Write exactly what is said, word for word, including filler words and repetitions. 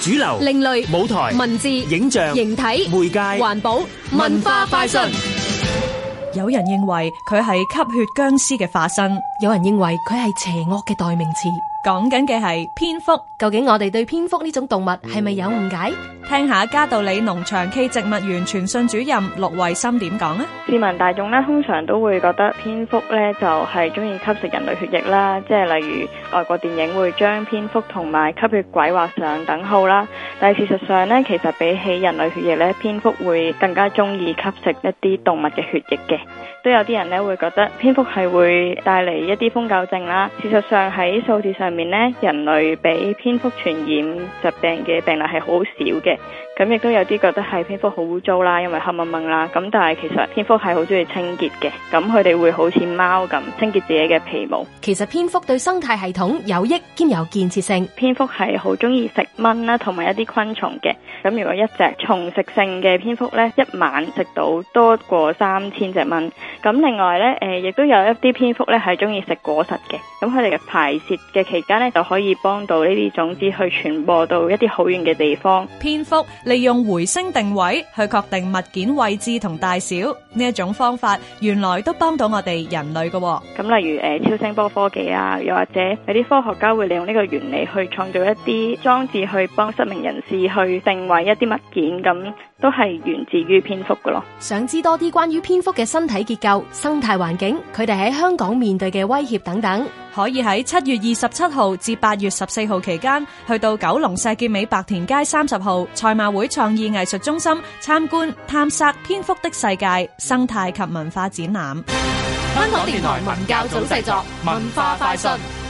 主流、 另類、 舞台、 文字、 影像、 形體、 媒介、 環保、文化快訊。 有人認為佢係吸血僵屍嘅化身， 有人認為佢係邪惡嘅代名詞。 講緊嘅係蝙蝠。 究竟我哋對蝙蝠呢種動物係咪有誤解？ 聽下嘉道理農場暨植物園傳訊主任陸慧心點講啊？ 市民大眾咧通常都會覺得蝙蝠咧就係中意吸食人類血液啦，即係例如外國電影會將蝙蝠同埋吸血鬼畫上等號啦。但係事實上咧，其實比起人類血液咧，蝙蝠會更加中意吸食一啲動物嘅血液嘅。都有啲人咧會覺得蝙蝠係會帶嚟一啲瘋狗症啦。事實上喺數字上面咧，人類俾蝙蝠傳染疾病嘅病例係好少嘅。咁亦都有啲覺得係蝙蝠好污糟啦，因為黑掹掹啦。咁但係其實蝙蝠係好中意清潔嘅，咁佢哋會好似貓咁清潔自己嘅皮毛。 其實蝙蝠對生態系統有益兼有建設性。 蝙蝠係好中意食蚊啦，同埋一啲昆蟲嘅。咁如果一隻蟲食性嘅蝙蝠咧，一晚食到多過三千隻蚊。咁另外咧，誒亦都有一啲蝙蝠咧係中意食果實嘅。咁佢哋嘅排泄嘅期間咧，就可以幫到呢啲種子去傳播到一啲好遠嘅地方。 蝙蝠利用回聲定位去確定物件位置同大小，呢一種方法原來都幫到我哋人類嘅。 咁例如誒超聲波科技啊，又或者有啲科學家會利用呢個原理去創造一啲裝置去幫失明人士去定位一啲物件，咁都係源自於蝙蝠嘅咯。 想知多啲關於蝙蝠嘅身體結構、生態環境，佢哋喺香港面對嘅威脅等等， 可以喺七月二十七號至八月十四號期間，去到九龍石硤尾白田街三十號賽馬會創意藝術中心參觀探索蝙蝠的世界生態及文化展覽。 香港電台文教組製作，文化快訊。